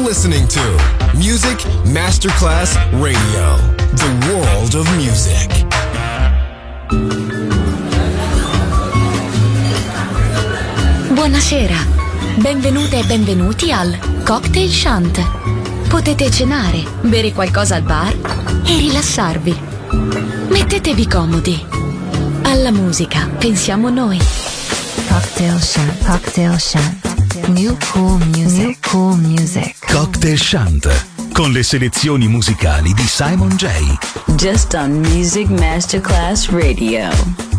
listening to Music Masterclass Radio, the world of music. Buonasera, benvenute e benvenuti al Cocktail Shant. Potete cenare, bere qualcosa al bar e rilassarvi. Mettetevi comodi. Alla musica pensiamo noi. Cocktail Shant, Cocktail Shant. New cool music, new cool music. Cocktail Shant, con le selezioni musicali di Simon J. Just on Music Masterclass Radio.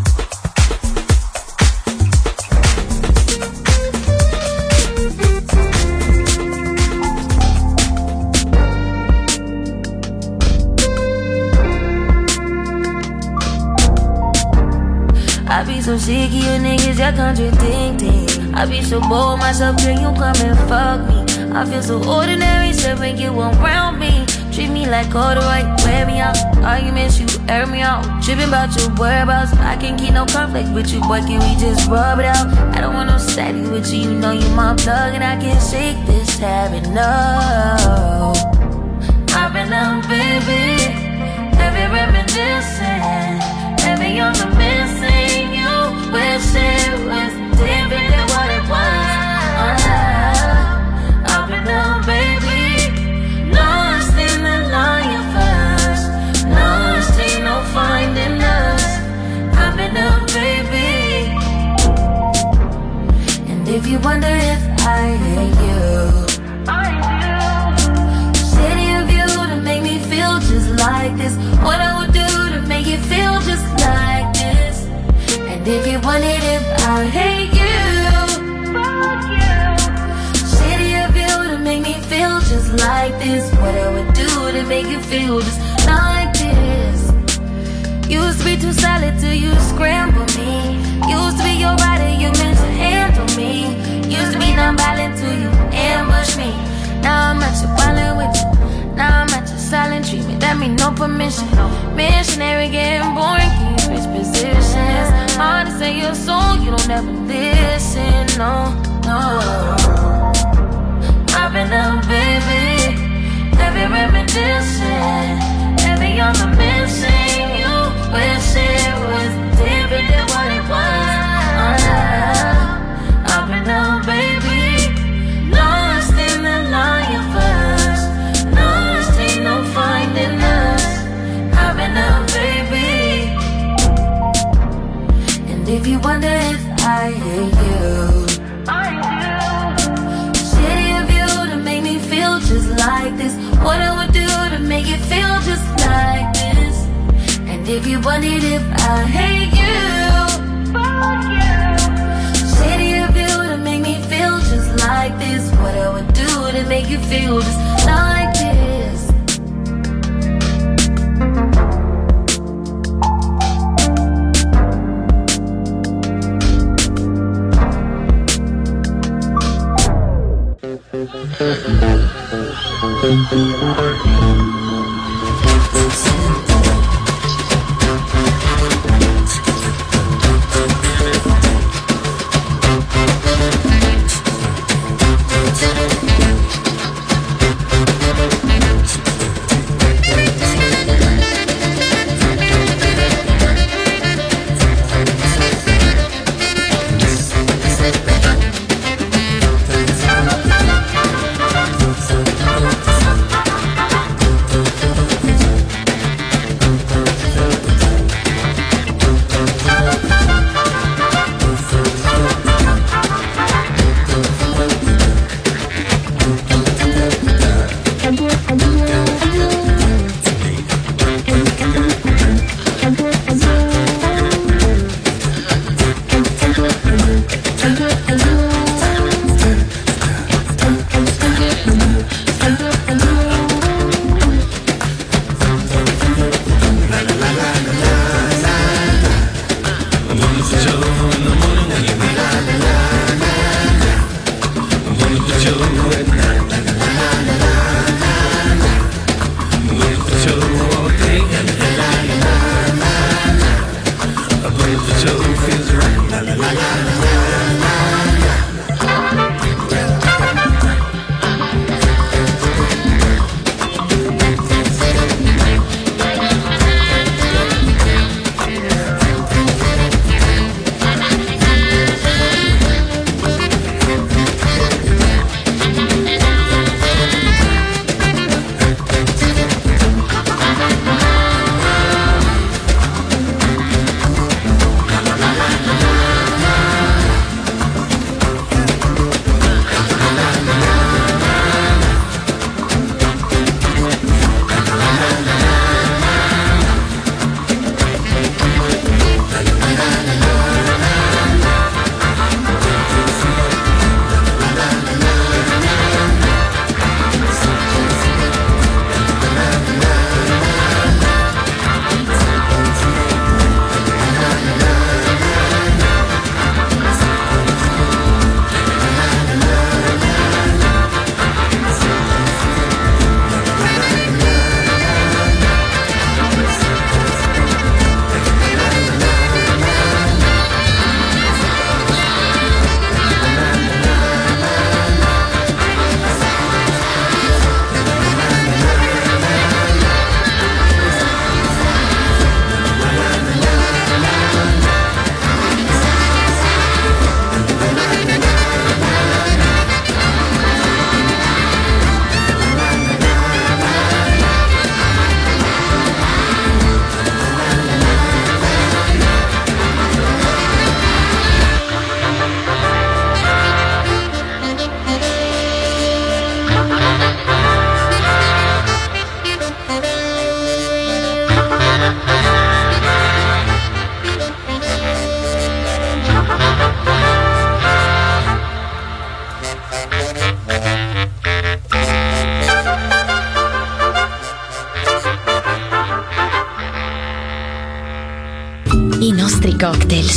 I be so sick of you niggas, y'all contradicting. I be so bold myself, can you come and fuck me? I feel so ordinary, so make you around me. Treat me like all the right, wear me out. Arguments, you air me out. Tripping about your whereabouts. I can't keep no conflict with you, boy, can we just rub it out? I don't want no static with you, you know you my plug. And I can't shake this habit, no. I've been out, baby. Heavy reminiscing. Heavy on the missing. You wish it was different than what it was. I've been out, baby. Lost in the lion first. Lost, ain't no finding us. I've been out, baby. And if you wonder if I hate you, I do. City of you to make me feel just like this. What I would do to make you feel just like this. And if you wondered if I hate you, fuck you. City of you to make me feel just like this. What I would do to make you feel just like this. Used to be too solid till you scramble me. Used to be your rider, you meant to handle me. Used to be non-violent till you ambush me. Now I'm at your violent with you. Now I'm at your silent treatment. That mean no permission. Missionary getting boring, can you switch positions? Hard to say your soul, you don't ever listen, no, no. I've been out, baby. Heavy reminiscing. Heavy on the missing. You wish it was different than what it was. I've been out, baby. Lost in the lion first. Lost, ain't no finding us. I've been out, baby. And if you wonder if I hate you, I do. City of you to make me feel just like this. What I would do to make you feel just like this. And if you wondered if I hate you, fuck you. City of you to make me feel just like this. What I would do to make you feel just like this.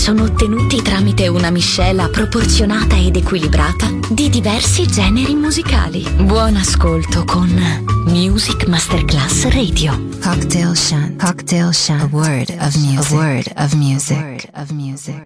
sono ottenuti tramite una miscela proporzionata ed equilibrata di diversi generi musicali. Buon ascolto con Music Masterclass Radio. Cocktail Shant. Cocktail Shant. A word of music. A word of music. A word of music.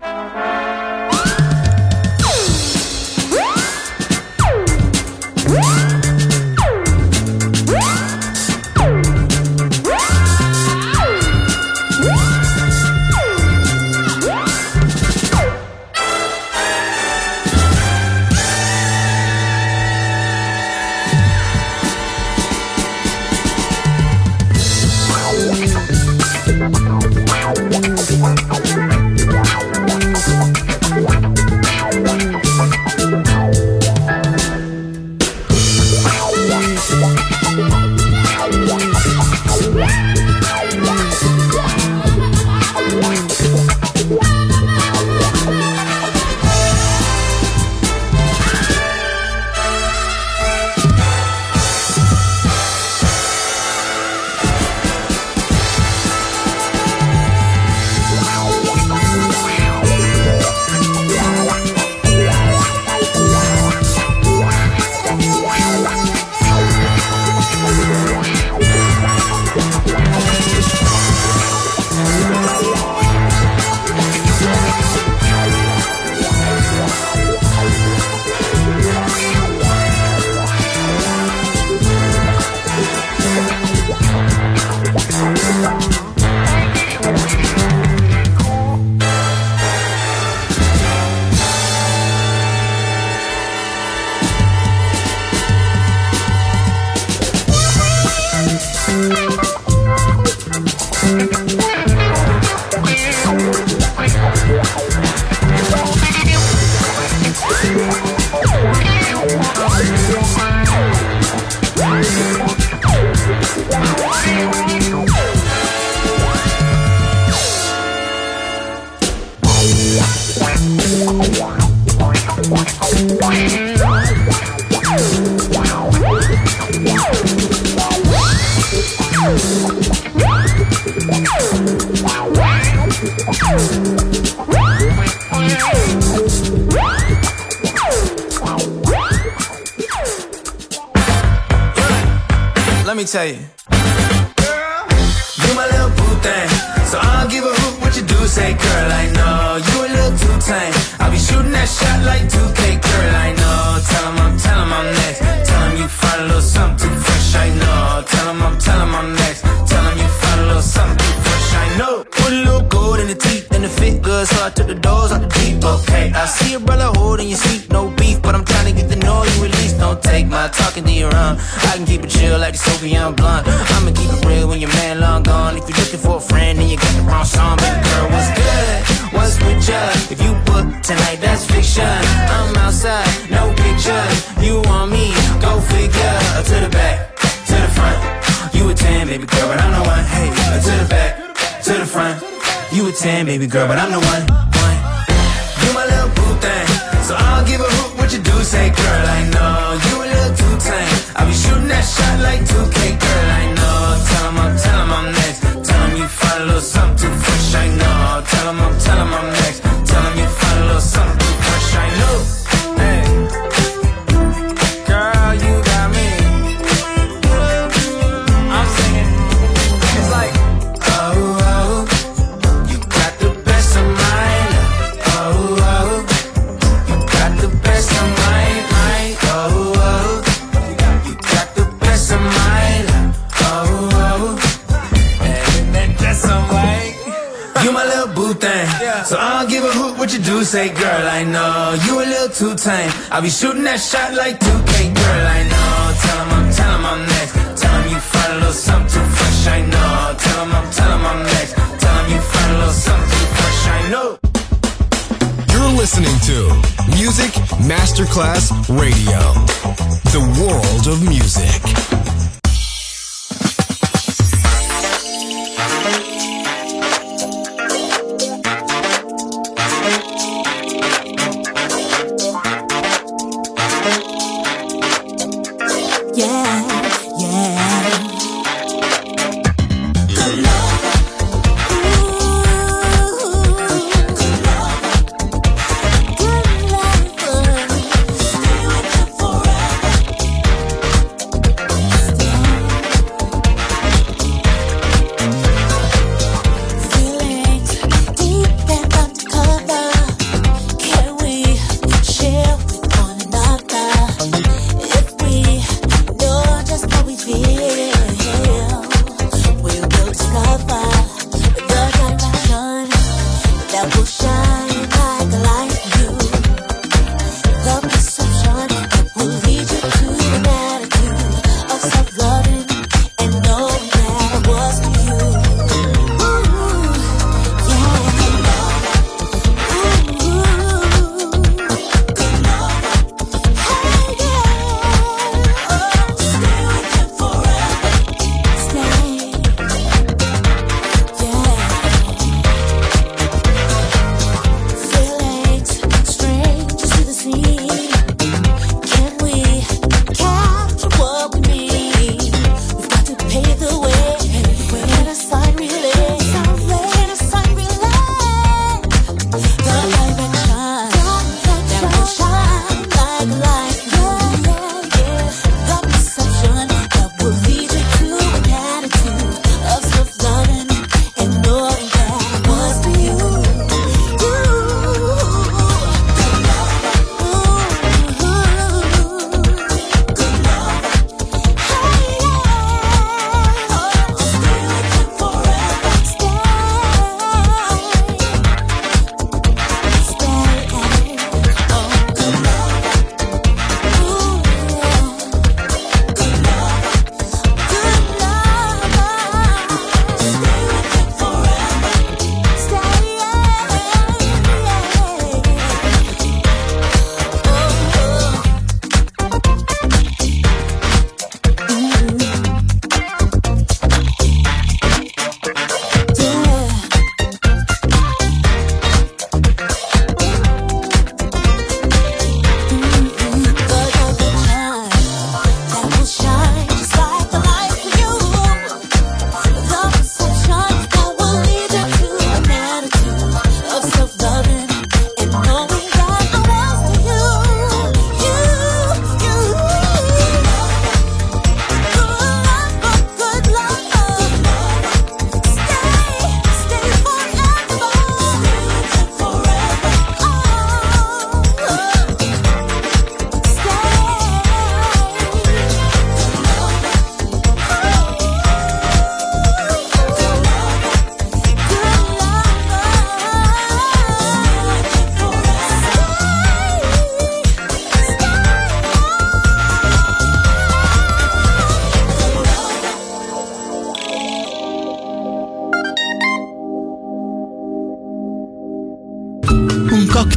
Let me tell you, girl, you my little boo thing, so I don't give a hoot what you do. Say, girl, I know you a little too tame. I'll be shooting that shot like 2K, girl, I know. Tell 'em I'm next. Tell 'em you find a little something too fresh, I know. Tell 'em I'm next. Tell 'em you find a little something too fresh, I know. Put a little gold in the teeth and it fit good, so I took the doors out the deep. Okay, I see a brother holding your seat, no beef, but I'm trying to get the noise you release. Don't take my talking to your own. I can keep it chill like the Soviet blunt. I'ma keep it real when your man long gone. If you're looking for a friend, then you got the wrong song. Baby girl, what's good? What's with ya? If you book tonight, that's fiction. I'm outside, no pictures. You want me? Go figure. To the back, to the front. You a 10, baby girl, but I'm the one. Hey, to the back, to the front. You a 10, baby girl, but I'm the one. You my little boo thing, so I don't give a hoot what you do. Say, girl, I know you a little too tame. I'll be shooting that shot like 2K, girl, I know. Tell 'em I'm next. Tell 'em you find a little something too fresh, I know. Tell 'em I'm next. Tell 'em you find a little something too fresh, I know. Hey, girl, you got me. I'm singing. It's like, oh, oh, you got the best of mine. Oh, oh, you got the best of mine. Oh, oh, you got the best of mine. Oh, oh, and that's alright. You my little boo thing, so I don't give a hoot what you do. Say, girl, I know you a little too tame. I'll be shooting that shot like 2K, girl, I know. Tell 'em I'm next. Tell 'em you find a little something too fresh, I know. Tell 'em I'm next. Tell 'em you find a little something too fresh, I know. You're listening to Music Masterclass Radio, the world of music. Color. Ooh, color.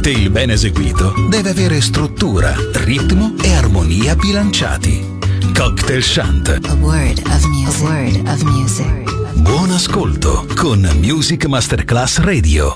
cocktail ben eseguito deve avere struttura, ritmo e armonia bilanciati. Cocktail Chant. A word of music. A word of music. Buon ascolto con Music Masterclass Radio.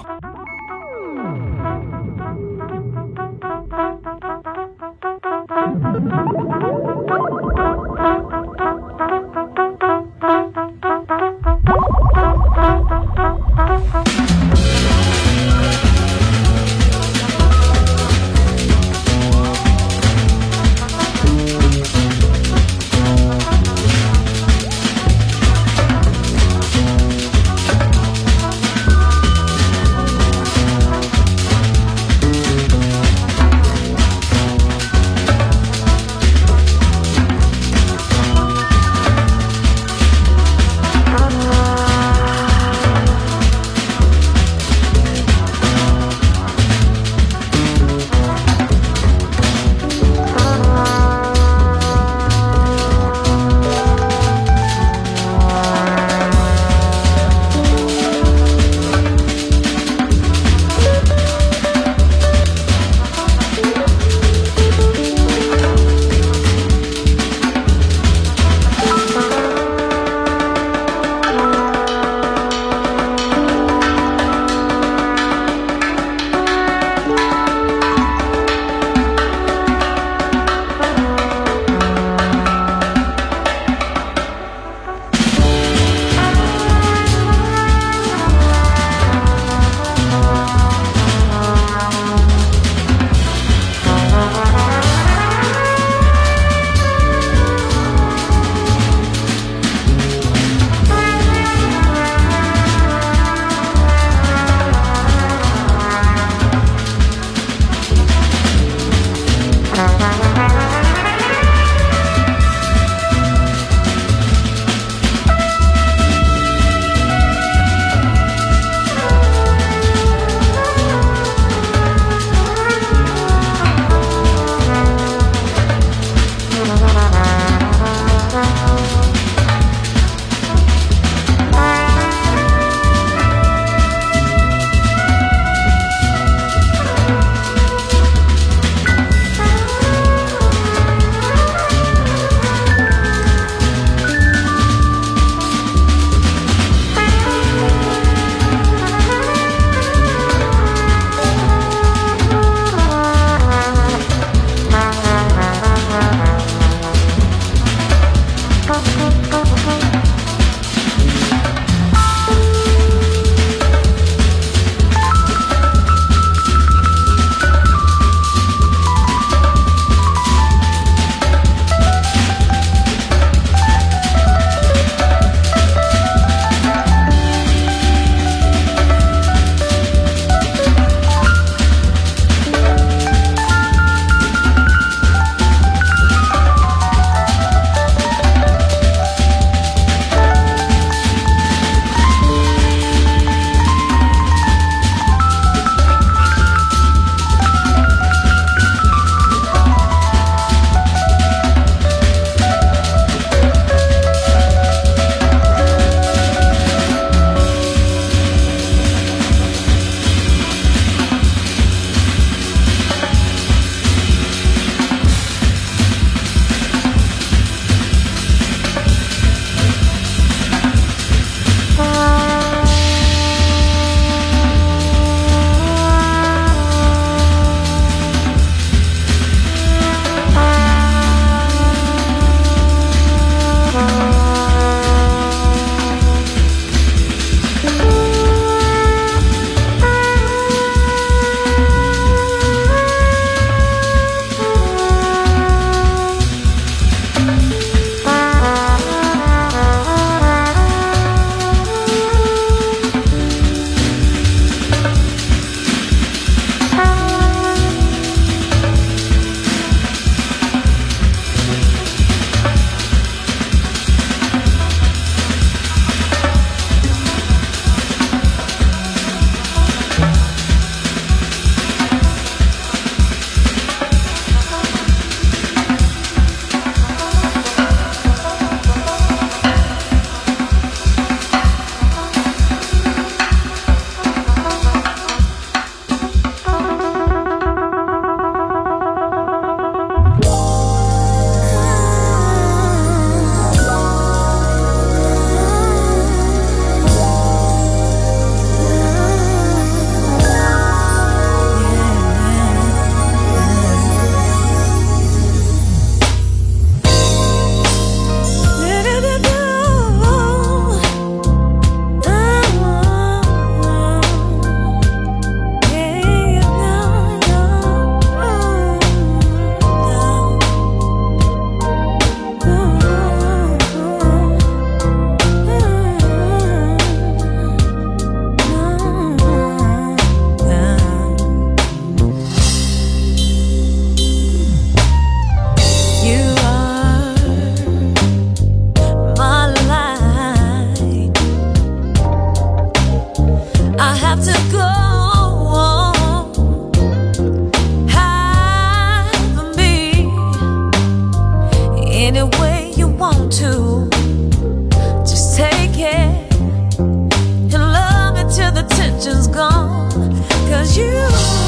way you want to. Just take it and love it till the tension's gone. 'Cause you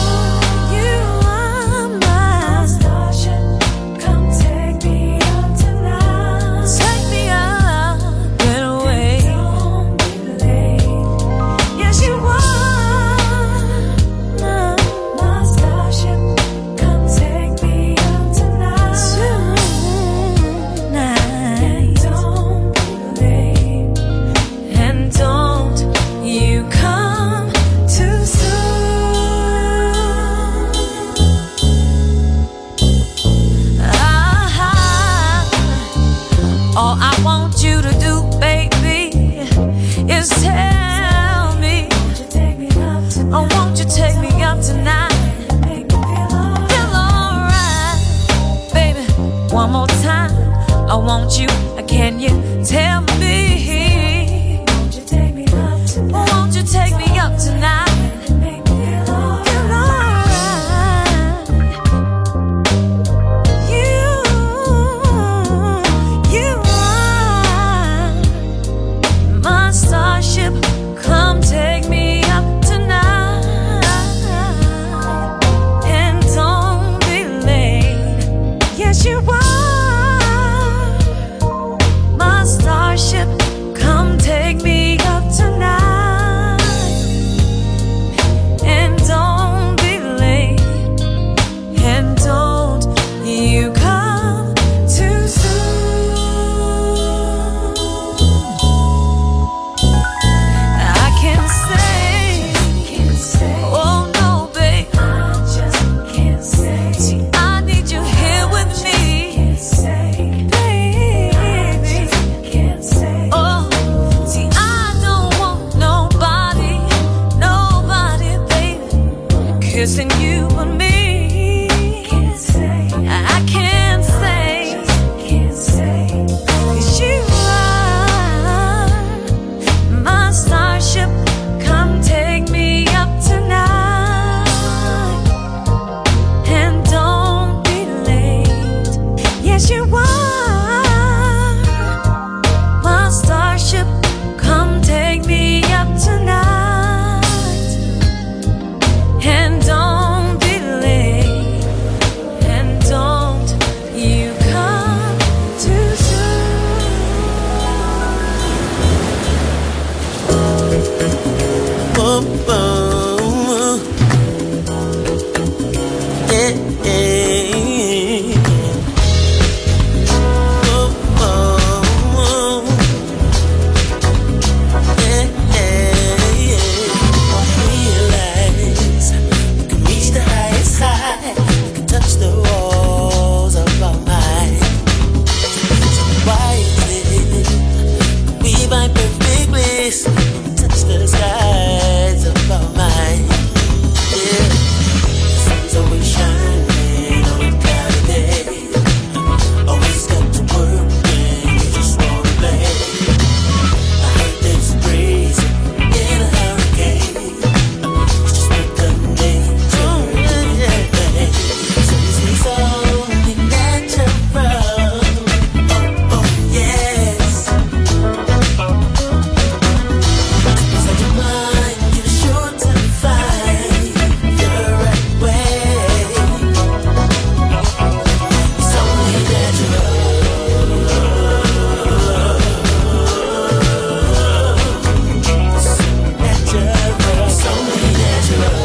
are my starship. Come take me up tonight. Take me up and away. Don't be late. Yes, you are my starship. Come take me up tonight. Tonight. Don't be late. And don't you come too soon. All I want you to do, baby, is tell me, oh, won't you take me up tonight? Feel alright, baby, one more time. I want you, can you tell me, won't you take me up tonight? Won't you take me up tonight? Feel alright. You are my starship. Come take me up tonight. And don't be late. Yes, you are my starship. Come take me up tonight. And don't be late. And don't you come too soon. I can't say, oh no, babe, I just can't say. See, I need you here with me, baby. Oh, see, I don't want nobody, baby, kissing you but me. I can't say, 'cause you are my starship. Come take me up tonight. And don't be late. Yes, you are my starship. Come take me up tonight. And don't be late. And don't you come too soon. Oh, oh, yeah, yeah. Oh, oh, yeah, yeah. Realize we can reach the highest high, we can touch the walls of our mind. So why is it we vibe perfectly when we touch the skies of our mind? Yeah, the sun's always shining on a cloudy day. Always got to work when you just wanna play. I heard there's a breeze in a hurricane. It's just like the nature of everything. So this is only natural. Oh, oh, yes. Inside your mind, you're sure to find the right way. It's only natural. It's only natural.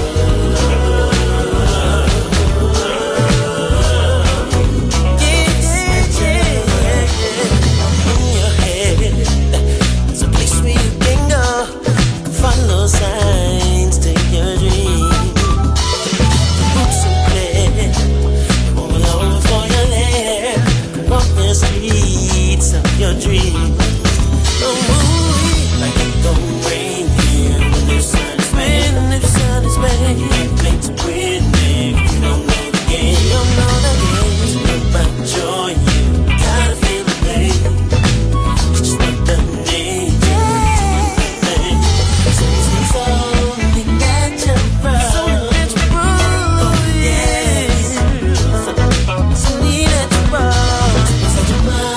In your head, there's a place where you can go, follow signs to your dream. The roots so clear, you won't be lonely for your lair. Walk the streets of your dream. Oh, like it don't rain here when the sun is red. When the sun is red, you can't play to win if you don't know the game. You don't know the game. It's not about joy, you gotta feel the pain. It's just like the nature. So it's only natural. Oh, yes. It's only natural. Inside your mind.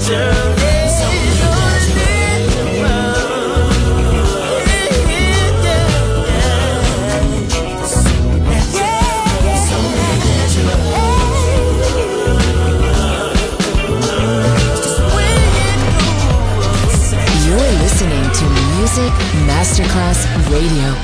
Masterclass Radio.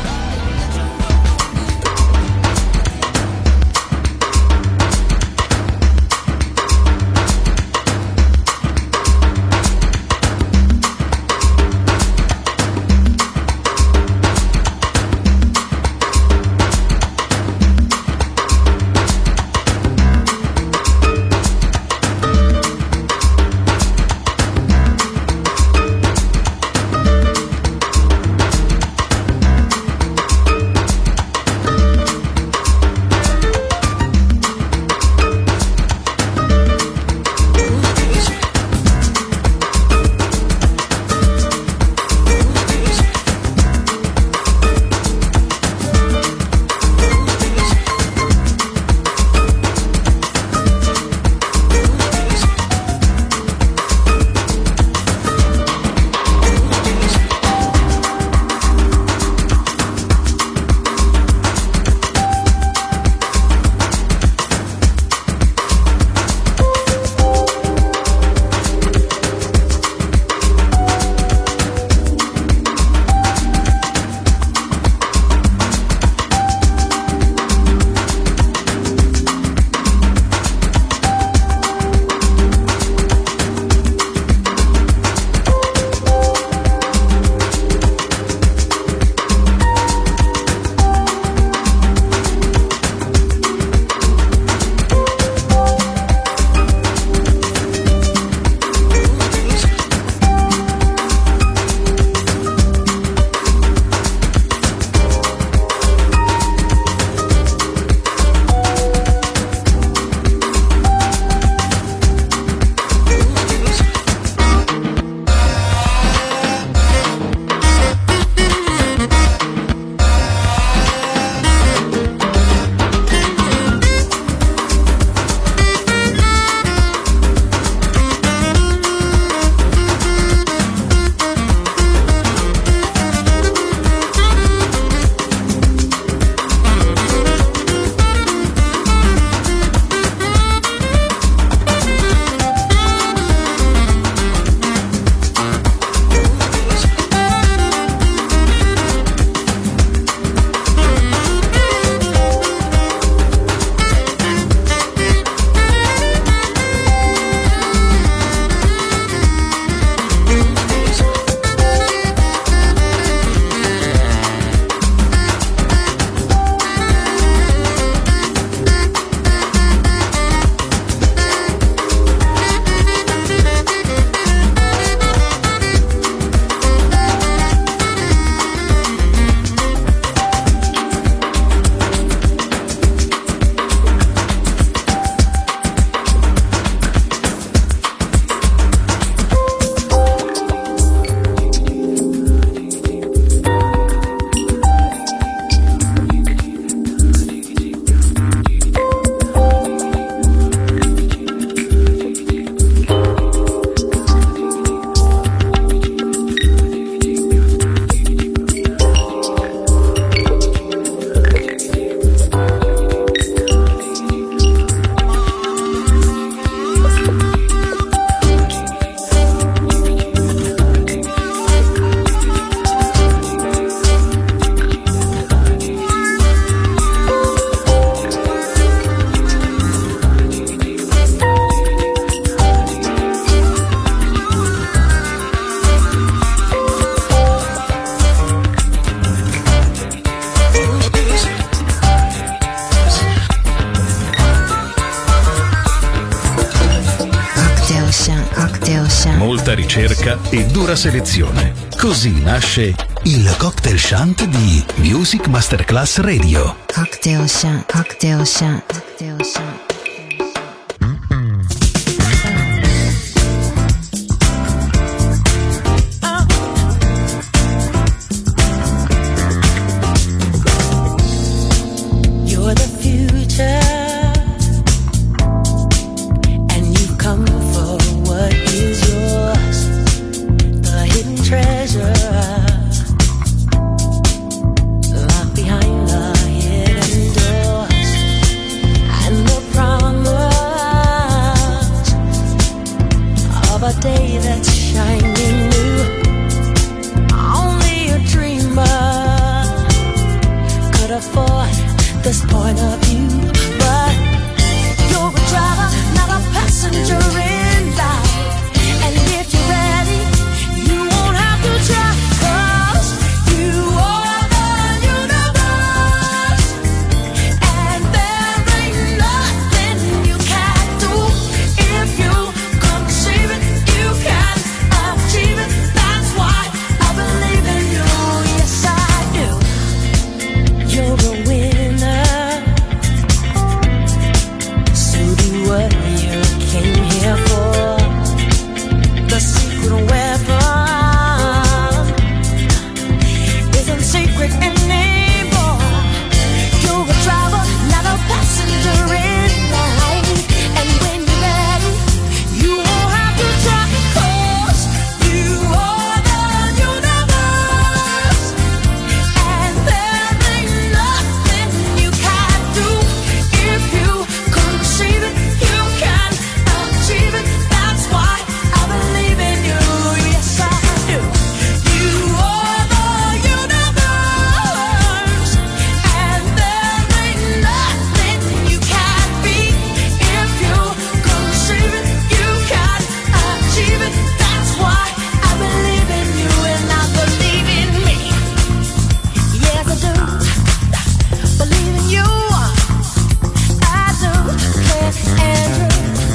Molta ricerca e dura selezione. Così nasce il Cocktail Shant di Music Masterclass Radio. Cocktail Shant, Cocktail Shant, Cocktail Shant. Is your a day that's shining new. Only a dreamer could afford this point of view. But you're a driver, not a passenger in life. And if you're ready, you won't have to try. 'Cause you are the universe, and there ain't nothing you can't do. If you conceive it, you can achieve it. That's why I believe in you. Yes, I do. You're a winner, so do what you came here for. The secret weapon isn't secret anymore. You're a driver, not a passenger in life. And when you're ready, you won't have to try. 'Cause you are the universe, and there ain't nothing you can't do. If you conceive it, you can achieve it. That's why I believe in you. Yes, I do. You are the universe, and there ain't nothing you can't be. If you conceive it, you can achieve it. That's why I believe in you, and I believe in me. Yes, I do. Believe in you. I do. Cliff Andrew.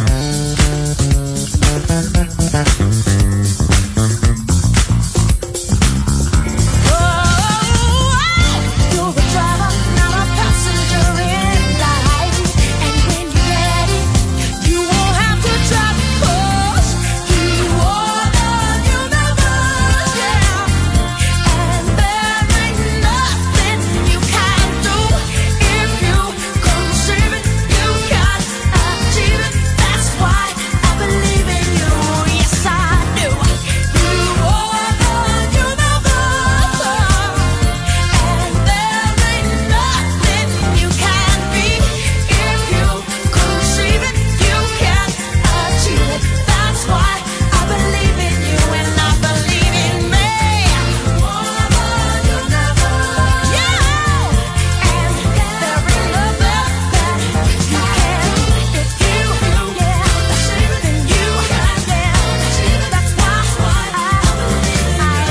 You're a driver, not a passenger in life. And when you're ready, you won't have to try. 'Cause you are the universe, yeah. And there ain't nothing you can't do. If you conceive it, you can achieve it. That's why I believe in you. Yes, I do. You are the universe, and there ain't nothing you can't be. If you conceive it, you can achieve it. That's why I believe in you, and I believe in me. You are the universe, yeah. And there ain't nothing that you can. If you, yeah, then you can achieve it. That's why I believe in you.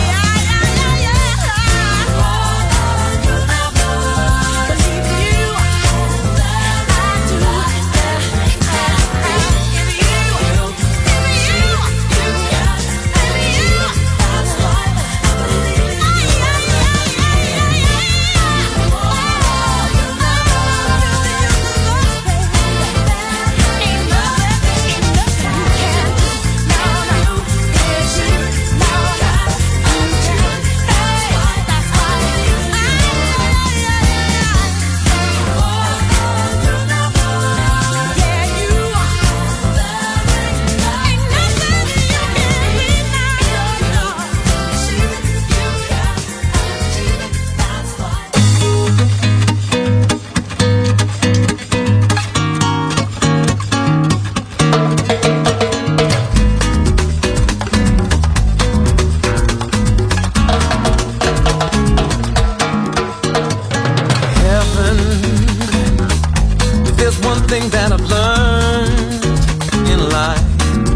Heaven, if there's one thing that I've learned in life,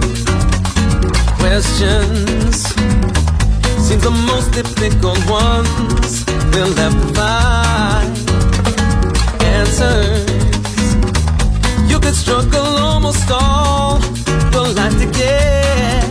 questions seem the most difficult ones. We'll have to find answers. You could struggle almost all your life to get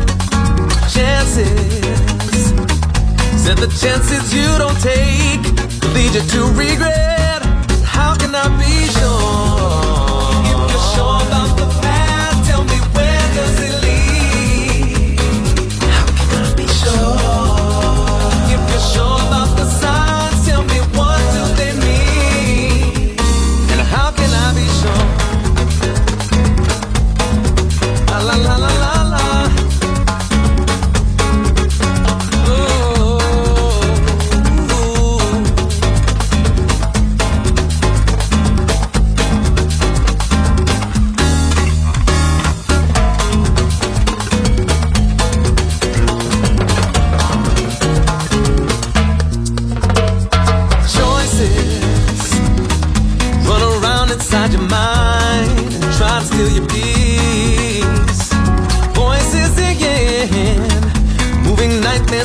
chances. Said the chances you don't take will lead you to regret. How can I be sure? If you're sure about the past, tell me where does it lead? How can I be sure? If you're sure about the signs, tell me what do they mean? And how can I be sure? La la la la la la.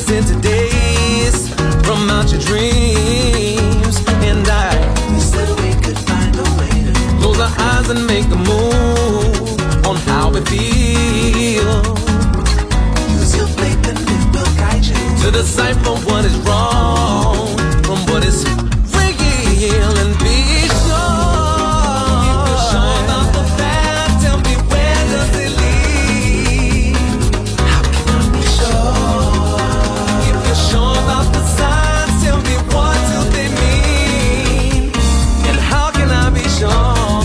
into days from out your dreams, and we said we could find a way to close our eyes and make a move on how we feel. Use your faith and it will guide you to decipher what is wrong from what is real, and be sure. If you're sure about the path, tell me where does it lead? How can I be sure? If you're sure about the signs, tell me what do they mean? And how can I be sure?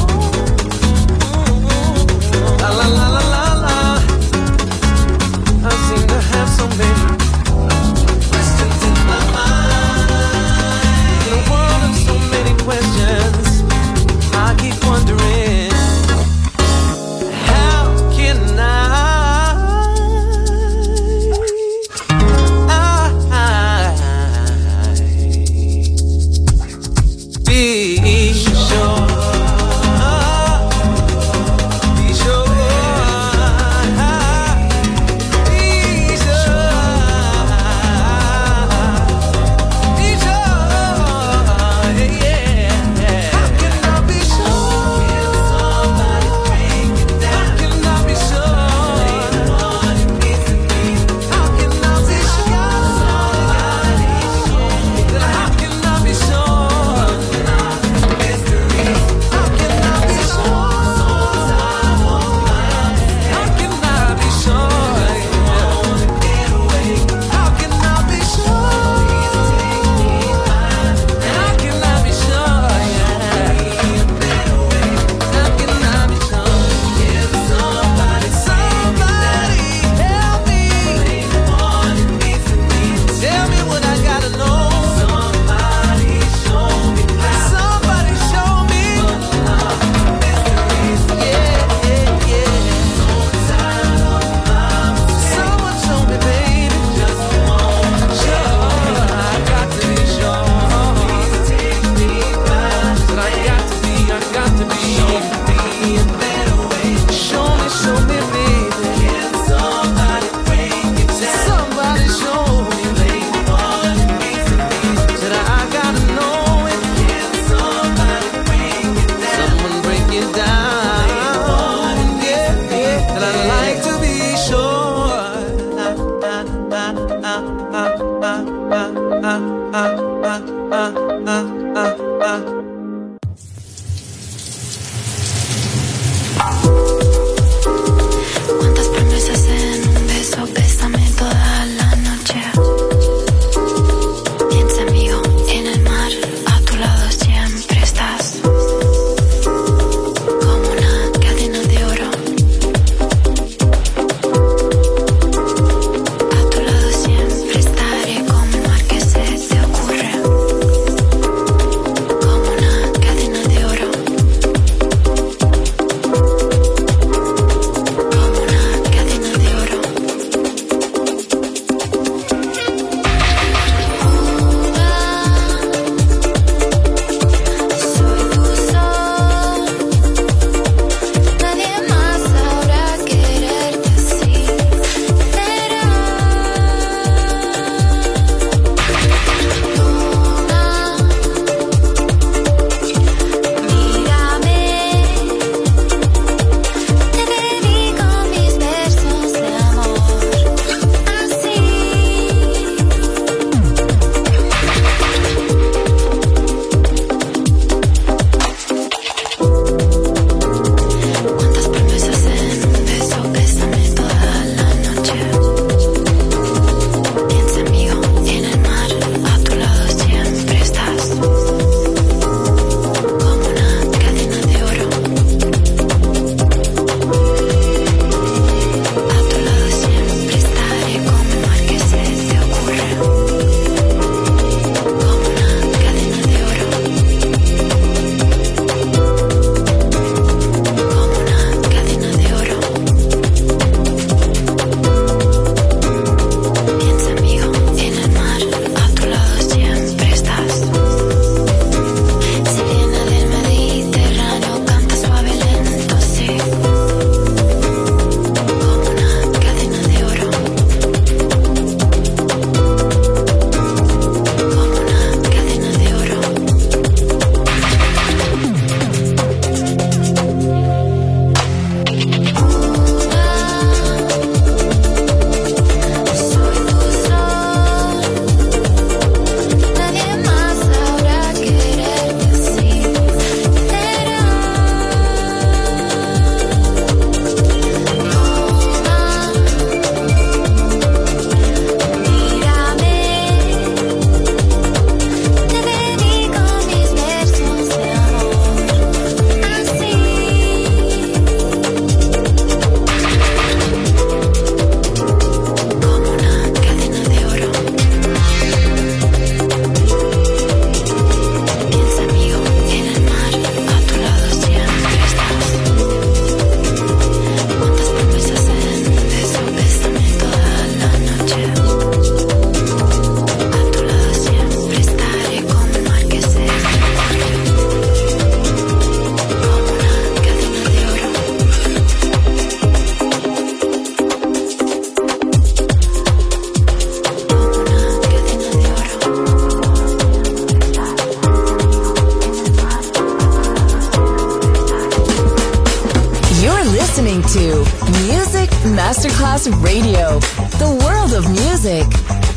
La la la la la la. I seem to have so many questions in my mind. In a world of so many questions, I keep wondering, how can I be sure? Be sure. Cuántas promesas en un beso, bésame toda la noche. Piensa amigo, en el mar, a tu lado siempre estás. Como una cadena de oro. A tu lado siempre estaré, como un mar que se te ocurre. Como Masterclass Radio, the world of music.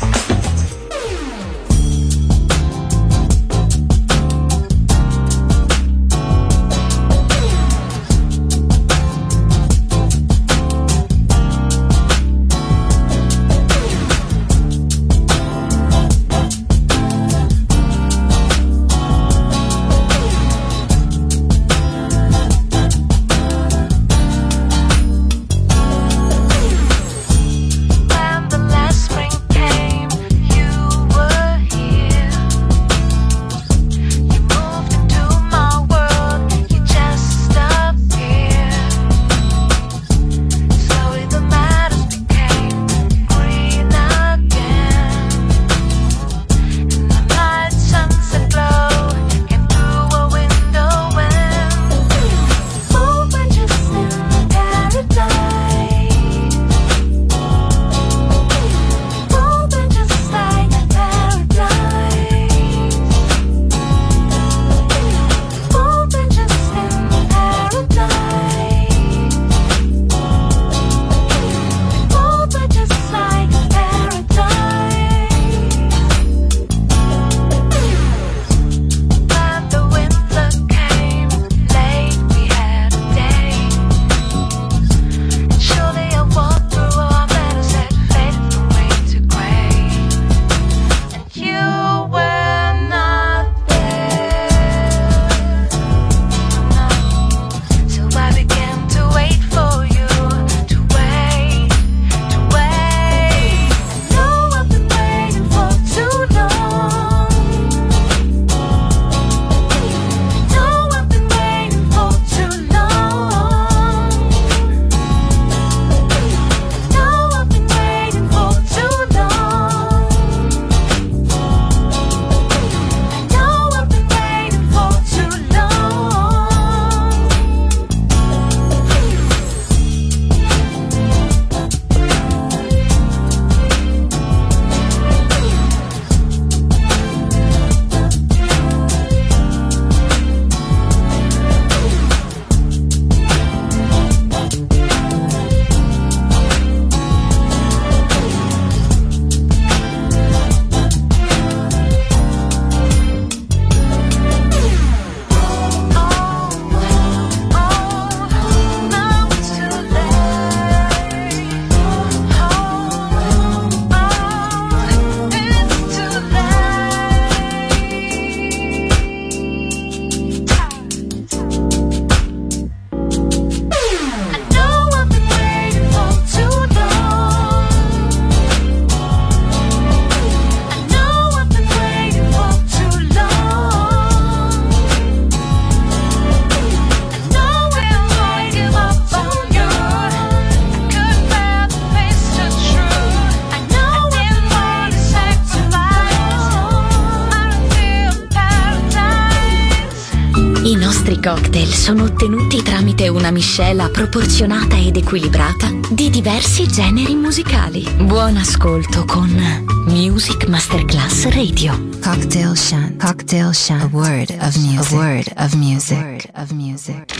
Cocktail sono ottenuti tramite una miscela proporzionata ed equilibrata di diversi generi musicali. Buon ascolto con Music Masterclass Radio. Cocktail Shant. Cocktail Shant. A word of music. A word of music. A word of music.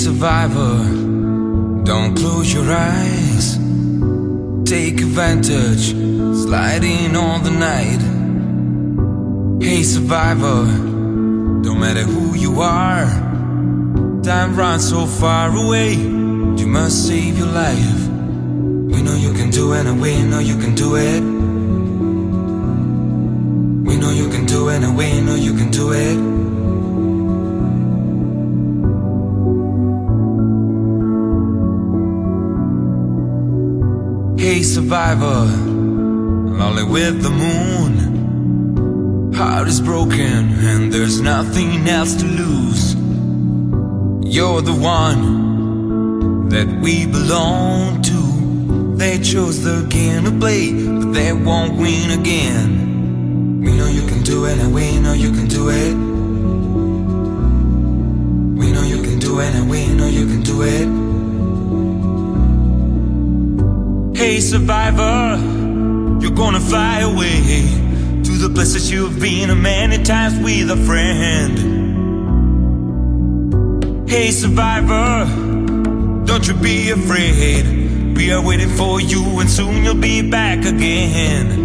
survivor, don't close your eyes. Take advantage, sliding on the night. Hey survivor, don't matter who you are, time runs so far away. You must save your life. We know you can do it, and we know you can do it. We know you can do it, and we know you can do it. Hey survivor, lonely with the moon. Heart is broken and there's nothing else to lose. You're the one that we belong to. They chose the game to play, but they won't win again. We know you can do it, and we know you can do it. We know you can do it, and we know you can do it. Hey survivor, you're gonna fly away to the places you've been many times with a friend. Hey survivor, don't you be afraid. We are waiting for you and soon you'll be back again.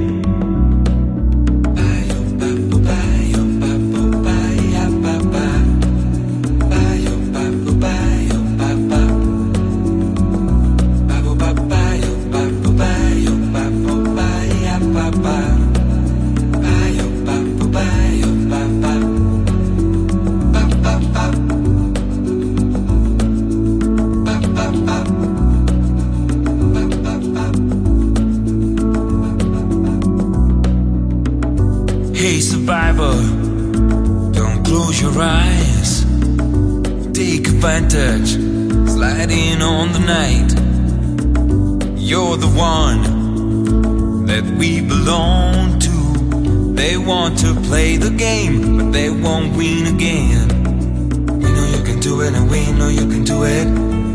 Hey survivor, don't close your eyes. Take advantage, sliding on the night. You're the one that we belong to. They want to play the game, but they won't win again. We know you can do it, and we know you can do it.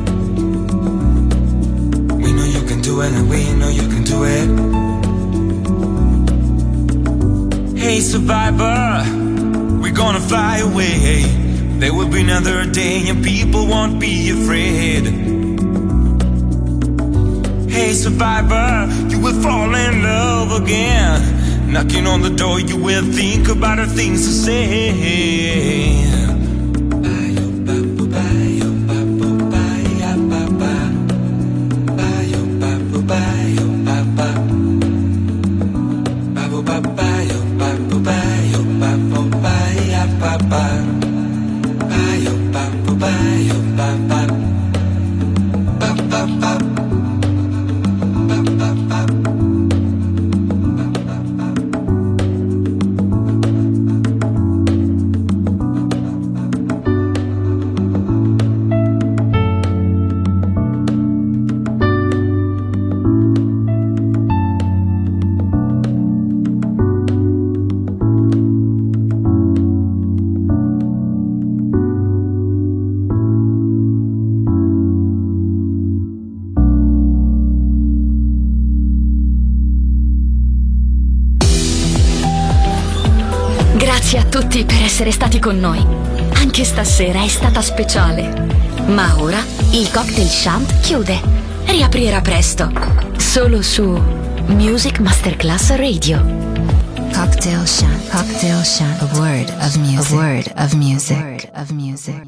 We know you can do it, and we know you can do it. Hey survivor, we're gonna fly away. There will be another day and people won't be afraid. Hey survivor, you will fall in love again. Knocking on the door, you will think about the things to say. Grazie a tutti per essere stati con noi. Anche stasera è stata speciale. Ma ora il Cocktail Shant chiude. Riaprirà presto. Solo su Music Masterclass Radio. Cocktail Shant. Cocktail Shant. A word of music. A word of music.